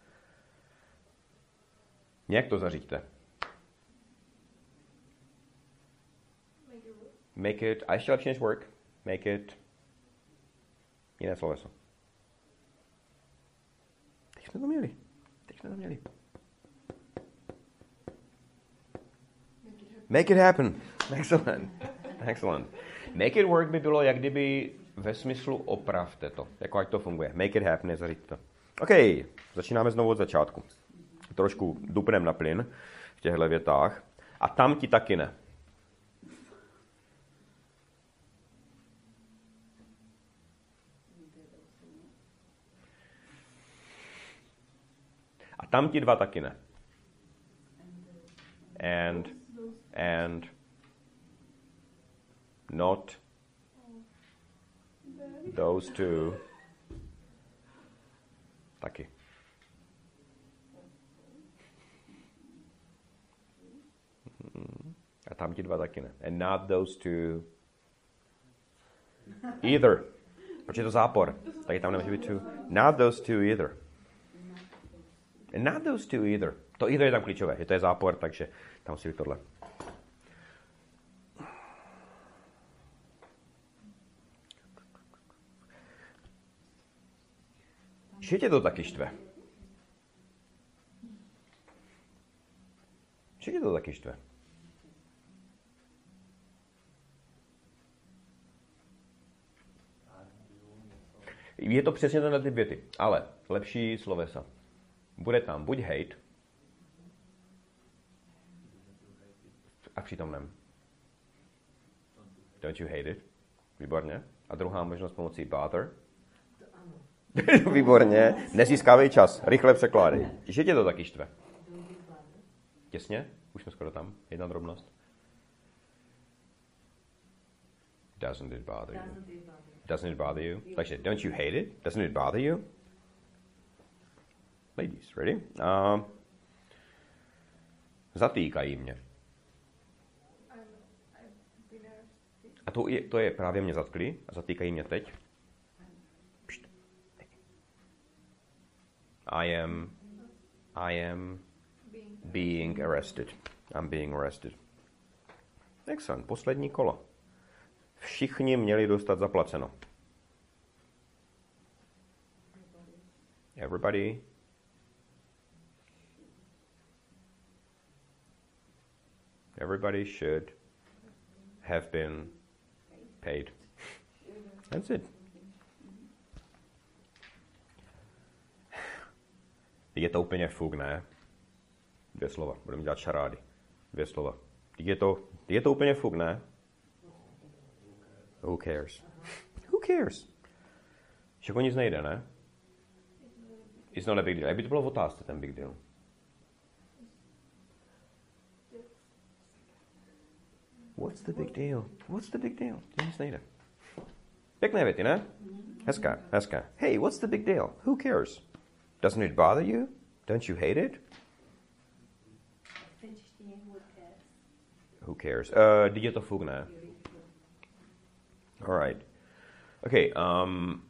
nějak to zaříďte. Make it, a ještě lepší než work. Make it, jiné sloveso. Teď jsme to měli. Teď jsme to měli. Make it happen. Excellent. Excellent. Make it work by bylo, jak kdyby ve smyslu opravte to. Jako ať to funguje. Make it happen, nezařiďte to. OK, začínáme znovu od začátku. Trošku dupnem na plyn v těchto větách. A tam ti taky ne. A tam ti dva taky ne. And, and, not, those two, taky. A tam ti dva taky ne. And not those two, Either. Proč je to zápor? Taky tam nemůže být two. Not those two either. And not those two either. To either je tam klíčové. Je to je zápor, takže tam musí být tohle. Že tě to taky štve? Že tě to taky štve? Je to přesně tenhle typ věty, ale lepší slovesa. Bude tam buď hate a přítomném. Don't you hate it? Výborně. A druhá možnost pomocí bother. Výborně. Nezískávej čas. Rychle překládej. Že tě to taky štve? Těsně? Už jsme skoro tam. Jedna drobnost. Doesn't it bother you? Doesn't it bother you? Takže, don't you hate it? Doesn't it bother you? Ladies, ready? Uh, zatýkají mě. A to je, to je právě mě zatkli a zatýkají mě teď. Pšt. I am, I am being arrested. I'm being arrested. Excellent. Poslední kolo. Všichni měli dostat zaplaceno. Everybody. Everybody should have been paid. That's it. Je to úplně fuk, ne? Dvě slova. Budeme dělat šarády. Dvě slova. Je to, je to úplně fuk, ne? Who cares? Who cares? Však o nic nejde, ne? It's not a big deal. Jak by to bylo v otázce, ten big deal? What's the big deal? What's the big deal? To nic nejde. Pěkné věty, ne? Hezká, hezká. Hey, what's the big deal? Who cares? Doesn't it bother you? Don't you hate it? Who cares? Uh, je to fuk, ne? All right. Okay. Um.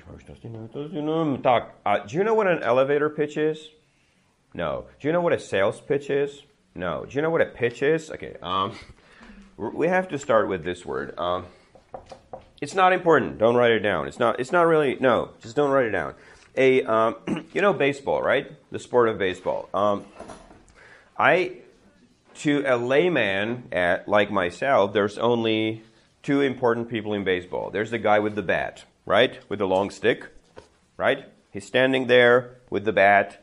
Tak. Uh, do you know what an elevator pitch is? No. Do you know what a sales pitch is? No. Do you know what a pitch is? Okay. Um. We have to start with this word. Um. It's not important. Don't write it down. It's not. It's not really. No. Just don't write it down. A. Um. You know baseball, right? The sport of baseball. Um. I. To a layman at, like myself, there's only two important people in baseball. There's the guy with the bat, right? With the long stick, right? He's standing there with the bat,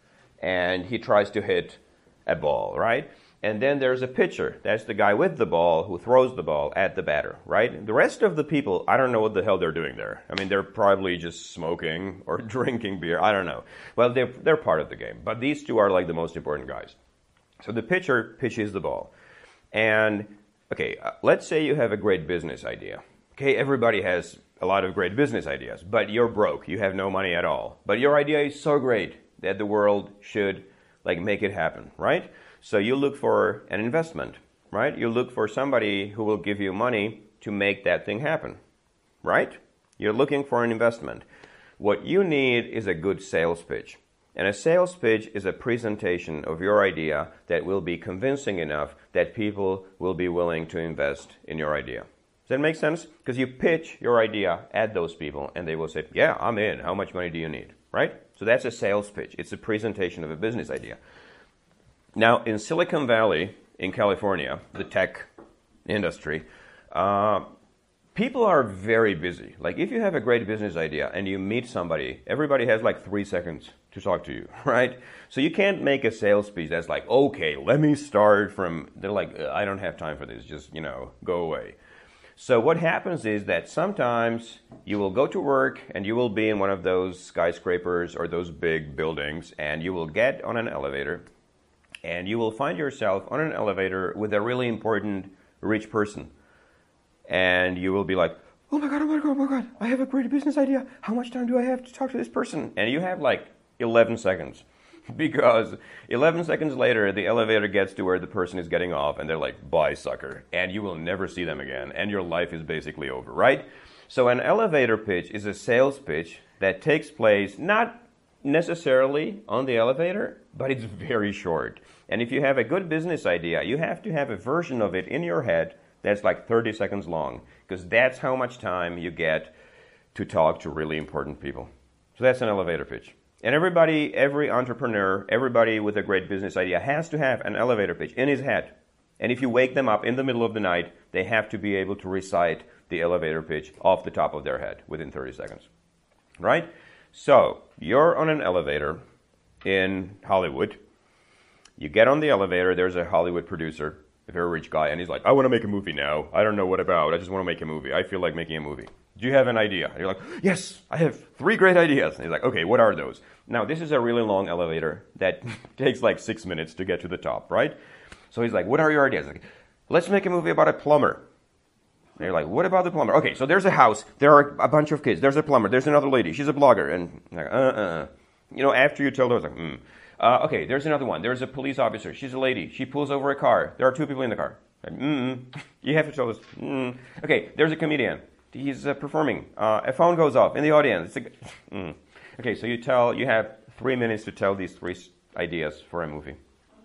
and he tries to hit a ball, right? And then there's a pitcher. That's the guy with the ball who throws the ball at the batter, right? The rest of the people, I don't know what the hell they're doing there. I mean, they're probably just smoking or drinking beer. I don't know. Well, they're, they're part of the game. But these two are like the most important guys. So the pitcher pitches the ball. And, okay, uh, let's say you have a great business idea. Okay, everybody has a lot of great business ideas, but you're broke. You have no money at all. But your idea is so great that the world should, like, make it happen, right? So you look for an investment, right? You look for somebody who will give you money to make that thing happen, right? You're looking for an investment. What you need is a good sales pitch. And a sales pitch is a presentation of your idea that will be convincing enough that people will be willing to invest in your idea. Does that make sense? Because you pitch your idea at those people and they will say, yeah, I'm in. How much money do you need? Right? So that's a sales pitch. It's a presentation of a business idea. Now, in Silicon Valley, in California, the tech industry, uh, people are very busy. Like, if you have a great business idea and you meet somebody, everybody has like three seconds to talk to you, right? So you can't make a sales pitch that's like, okay, let me start from, they're like, I don't have time for this, just, you know, go away. So what happens is that sometimes you will go to work and you will be in one of those skyscrapers or those big buildings and you will get on an elevator and you will find yourself on an elevator with a really important rich person. And you will be like, oh my God, oh my God, oh my God, I have a great business idea. How much time do I have to talk to this person? And you have like eleven seconds. Because eleven seconds later, the elevator gets to where the person is getting off and they're like, bye, sucker. And you will never see them again. And your life is basically over, right? So an elevator pitch is a sales pitch that takes place not necessarily on the elevator, but it's very short. And if you have a good business idea, you have to have a version of it in your head that's like thirty seconds long, because that's how much time you get to talk to really important people. So that's an elevator pitch. And everybody, every entrepreneur, everybody with a great business idea has to have an elevator pitch in his head. And if you wake them up in the middle of the night, they have to be able to recite the elevator pitch off the top of their head within thirty seconds. Right? So, you're on an elevator in Hollywood. You get on the elevator, there's a Hollywood producer, a very rich guy, and he's like, I want to make a movie now. I don't know what about. I just want to make a movie. I feel like making a movie. Do you have an idea? And you're like, yes, I have three great ideas. And he's like, okay, what are those? Now, this is a really long elevator that takes like six minutes to get to the top, right? So he's like, what are your ideas? Like, let's make a movie about a plumber. And you're like, what about the plumber? Okay, so there's a house. There are a bunch of kids. There's a plumber. There's another lady. She's a blogger. And like, uh-uh. You know, after you tell those, like, hmm. Uh, okay, there's another one. There's a police officer. She's a lady. She pulls over a car. There are two people in the car. Like, mm-mm. You have to tell us. Mm. Okay, there's a comedian. He's uh, performing. Uh, a phone goes off in the audience. It's a, mm. Okay, so you tell. You have three minutes to tell these three ideas for a movie.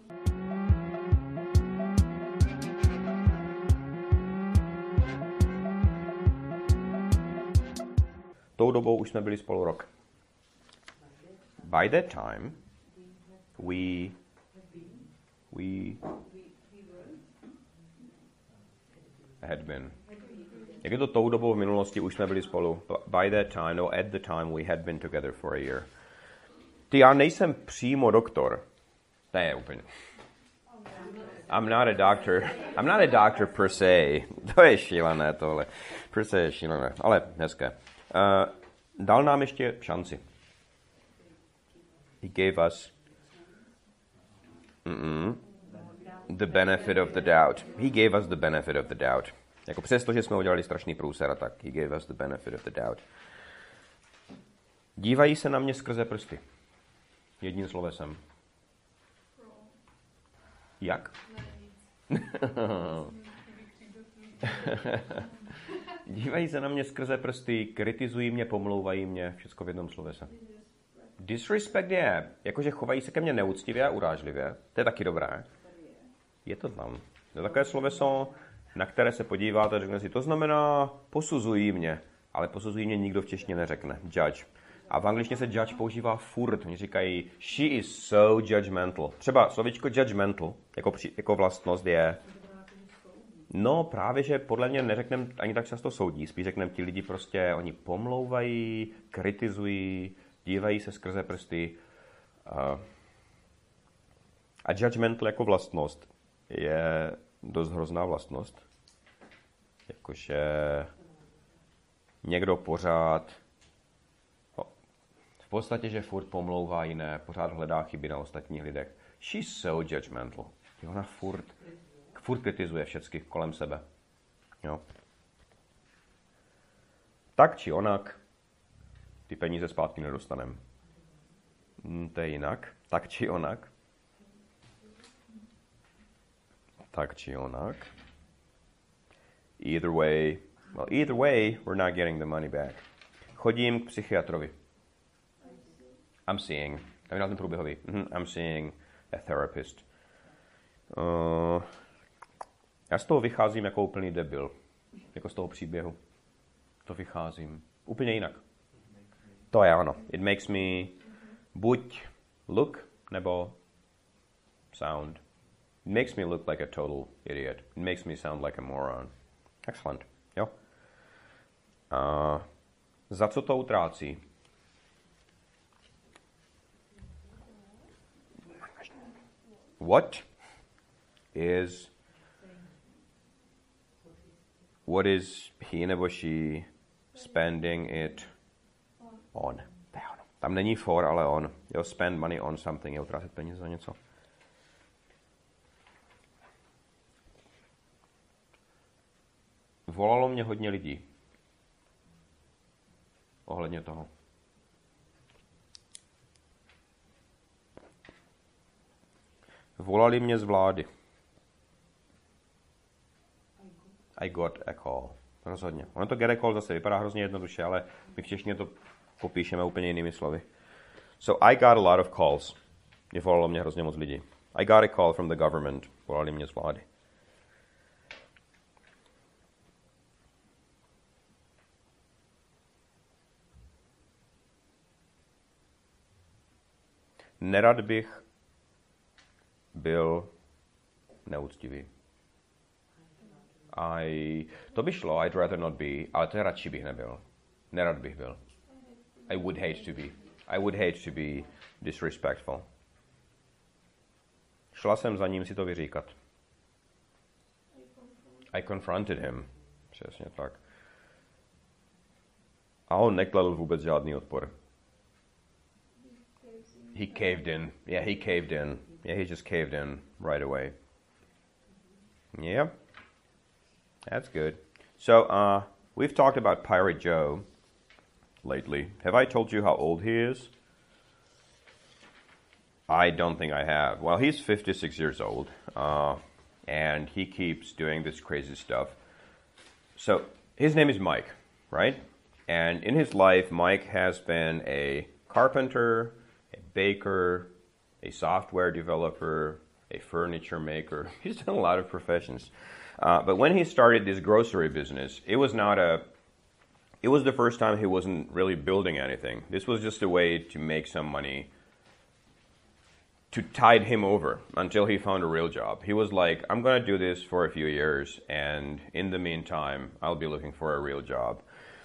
Tou dobou už jsme byli spolu rok. By that time, we, we had been. Jak je to tou dobou v minulosti, už jsme byli spolu. By that time, no, at the time, we had been together for a year. Ty, já nejsem přímo doktor. Ne, úplně. I'm not a doctor. I'm not a doctor per se. To je šílené tohle. Per se je šílené, ale hezké. Uh, dal nám ještě šanci. He gave us mm-mm, the benefit of the doubt. He gave us the benefit of the doubt. Jako přesto, že jsme udělali strašný průser, tak he gave us the benefit of the doubt. Dívají se na mě skrze prsty. Jedním slovesem. Jak? Dívají se na mě skrze prsty, kritizují mě, pomlouvají mě, všechno v jednom slovese. Disrespect je, jakože chovají se ke mně neúctivě a urážlivě. To je taky dobré. Je to tam. To je takové sloveso, na které se podíváte a řekne si, to znamená posuzují mě, ale posuzují mě nikdo v češtině neřekne. Judge. A v angličtině se judge používá furt. Oni říkají, she is so judgmental. Třeba slovičko judgmental, jako, při, jako vlastnost je... No právě, že podle mě neřekneme ani tak často soudí. Spíš řekneme, ti lidi prostě, oni pomlouvají, kritizují, dívají se skrze prsty. A judgmental jako vlastnost je dost hrozná vlastnost. Jakože někdo pořád, v podstatě, že furt pomlouvá jiné, pořád hledá chyby na ostatních lidech. She's so judgmental. Ona furt, furt kritizuje všechny kolem sebe. Jo. Tak či onak, ty peníze zpátky nedostaneme. Hm, to je jinak. Tak či onak. Tak či onak. Either way, well, either way, we're not getting the money back. Chodím k psychiatrovi. I'm seeing, tam je na ten průběhový. Mm-hmm, I'm seeing a therapist. Uh, já z toho vycházím jako úplný debil. Jako z toho příběhu. To vycházím úplně jinak. To je ono. It makes me buď look nebo sound. It makes me look like a total idiot. It makes me sound like a moron. Excellent. Jo? Uh, za co to utrácí? What is what is he nebo she spending it on? Tam není for, ale on. Jo, spend money on something, je utrácet peníze za něco. Volalo mě hodně lidí ohledně toho. Volali mě z vlády. I got a call. rozhodně. Ono to get a call zase vypadá hrozně jednoduše, ale my v češtině to popíšeme úplně jinými slovy. So I got a lot of calls. Mě volalo mě hrozně moc lidí. I got a call from the government. Volali mě z vlády. Nerad bych byl neúctivý. I, to by šlo, I'd rather not be, ale to radši bych nebyl. Nerad bych byl. I would hate to be. I would hate to be disrespectful. Šla jsem za ním si to vyříkat. I confronted him. Přesně tak. A on nekladl vůbec žádný odpor. He caved in. Yeah, he caved in. Yeah, he just caved in right away. Yeah. That's good. So, uh, we've talked about Pirate Joe lately. Have I told you how old he is? I don't think I have. Well, he's fifty-six years old, uh, and he keeps doing this crazy stuff. So, his name is Mike, right? And in his life, Mike has been a carpenter, a baker, a software developer, a furniture maker. He's done a lot of professions. Uh, but when he started this grocery business, it was not a, it was the first time he wasn't really building anything. This was just a way to make some money to tide him over until he found a real job. He was like, I'm going to do this for a few years, and in the meantime, I'll be looking for a real job.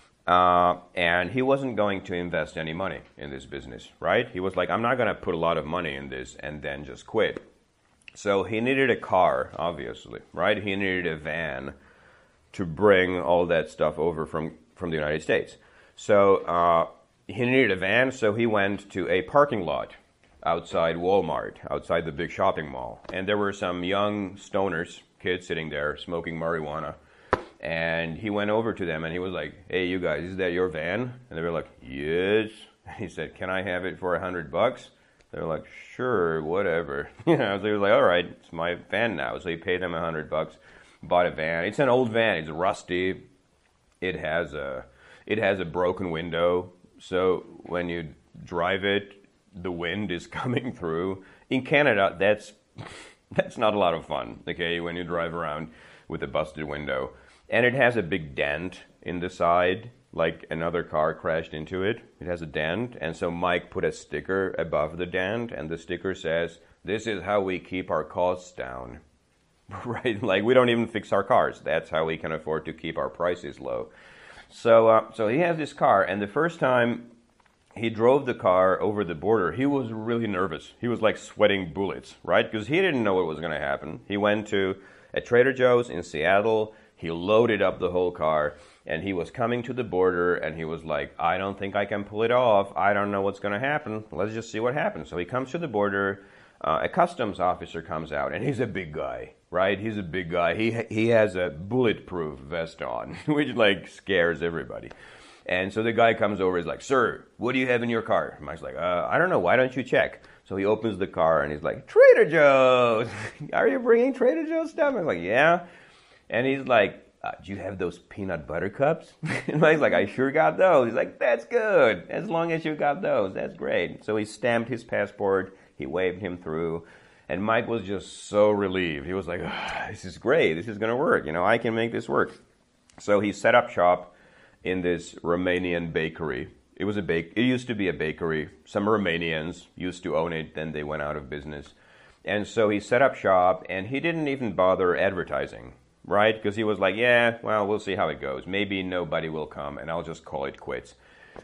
Uh, and he wasn't going to invest any money in this business, right? He was like, I'm not going to put a lot of money in this and then just quit. So he needed a car, obviously, right? He needed a van to bring all that stuff over from, from the United States. So uh, he needed a van, so he went to a parking lot outside Walmart, outside the big shopping mall. And there were some young stoners, kids sitting there smoking marijuana. And he went over to them and he was like, hey, you guys, is that your van? And they were like, yes. He said, can I have it for a hundred bucks? They were like, sure, whatever. You know, so he was like, all right, it's my van now. So he paid them a hundred bucks, bought a van. It's an old van. It's rusty. It has a, it has a broken window. So when you drive it, the wind is coming through. In Canada, that's that's not a lot of fun, okay, when you drive around with a busted window. And it has a big dent in the side, like another car crashed into it. It has a dent, and so Mike put a sticker above the dent, and the sticker says, this is how we keep our costs down. Right? Like, we don't even fix our cars. That's how we can afford to keep our prices low. So, uh, so he has this car, and the first time he drove the car over the border, he was really nervous. He was like sweating bullets, right? Because he didn't know what was going to happen. He went to a Trader Joe's in Seattle. He loaded up the whole car, and he was coming to the border, and he was like, I don't think I can pull it off. I don't know what's going to happen. Let's just see what happens. So he comes to the border. Uh, a customs officer comes out, and he's a big guy, right? He's a big guy. He he has a bulletproof vest on, which like scares everybody. And so the guy comes over, he's like, sir, what do you have in your car? Mike's like, uh, I don't know, why don't you check? So he opens the car, and he's like, Trader Joe's! Are you bringing Trader Joe's stuff? I'm like, yeah. And he's like, uh, do you have those peanut butter cups? And Mike's like, I sure got those. He's like, that's good. As long as you got those, that's great. So he stamped his passport. He waved him through. And Mike was just so relieved. He was like, oh, this is great. This is going to work. You know, I can make this work. So he set up shop in this Romanian bakery. It was a bake. It used to be a bakery. Some Romanians used to own it. Then they went out of business. And so he set up shop, and he didn't even bother advertising. Right? Because he was like, yeah, well, we'll see how it goes. Maybe nobody will come, and I'll just call it quits.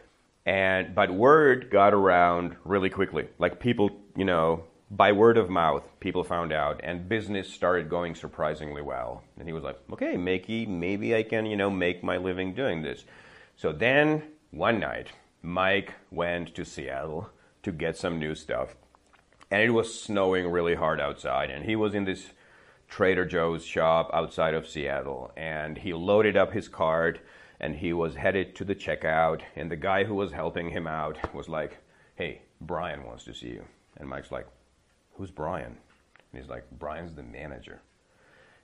And but word got around really quickly. Like people, you know, by word of mouth, people found out, and business started going surprisingly well. And he was like, okay, Makey, maybe I can, you know, make my living doing this. So then, one night, Mike went to Seattle to get some new stuff. And it was snowing really hard outside, and he was in this Trader Joe's shop outside of Seattle, and he loaded up his cart, and he was headed to the checkout, and the guy who was helping him out was like, hey, Brian wants to see you. And Mike's like, who's Brian? And he's like, Brian's the manager.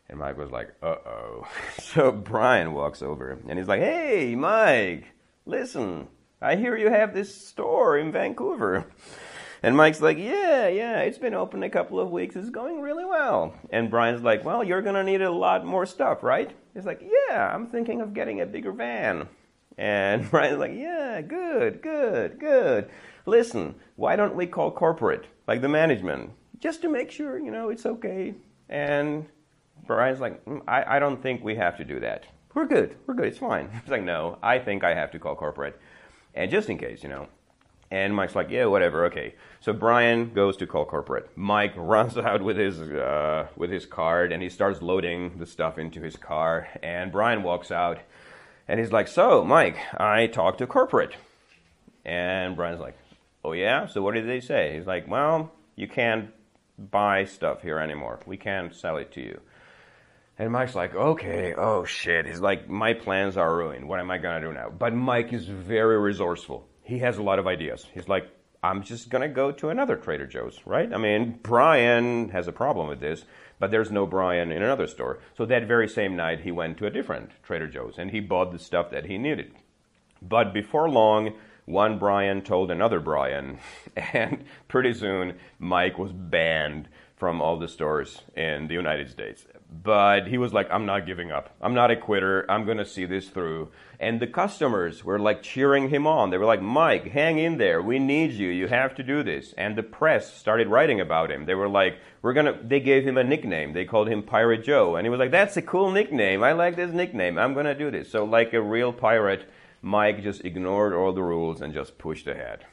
And Mike was like, uh-oh. So Brian walks over, and he's like, hey, Mike, listen, I hear you have this store in Vancouver. And Mike's like, yeah, yeah, it's been open a couple of weeks. It's going really well. And Brian's like, well, you're going to need a lot more stuff, right? He's like, yeah, I'm thinking of getting a bigger van. And Brian's like, yeah, good, good, good. Listen, why don't we call corporate, like the management, just to make sure, you know, it's okay. And Brian's like, mm, I, I don't think we have to do that. We're good, we're good, it's fine. He's like, no, I think I have to call corporate. And just in case, you know. And Mike's like, yeah, whatever, okay. So Brian goes to call corporate. Mike runs out with his uh, with his card, and he starts loading the stuff into his car. And Brian walks out, and he's like, so, Mike, I talked to corporate. And Brian's like, oh, yeah? So what did they say? He's like, well, you can't buy stuff here anymore. We can't sell it to you. And Mike's like, okay, oh, shit. He's like, my plans are ruined. What am I going to do now? But Mike is very resourceful. He has a lot of ideas. He's like, I'm just going to go to another Trader Joe's, right? I mean, Brian has a problem with this, but there's no Brian in another store. So that very same night, he went to a different Trader Joe's, and he bought the stuff that he needed. But before long, one Brian told another Brian, and pretty soon, Mike was banned from all the stores in the United States. But he was like, I'm not giving up. I'm not a quitter. I'm going to see this through. And the customers were like cheering him on. They were like, Mike, hang in there. We need you. You have to do this. And the press started writing about him. They were like, we're going to, they gave him a nickname. They called him Pirate Joe. And he was like, that's a cool nickname. I like this nickname. I'm going to do this. So like a real pirate, Mike just ignored all the rules and just pushed ahead.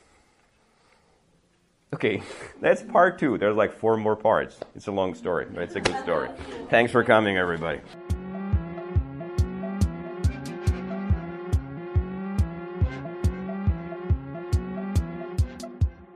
Okay, that's part two. There's like four more parts. It's a long story, but it's a good story. Thanks for coming, everybody.